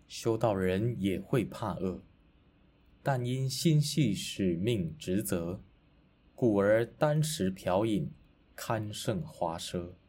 修道人也會怕餓，但因心繫使命職責，故而單食瓢飲，堪勝華奢。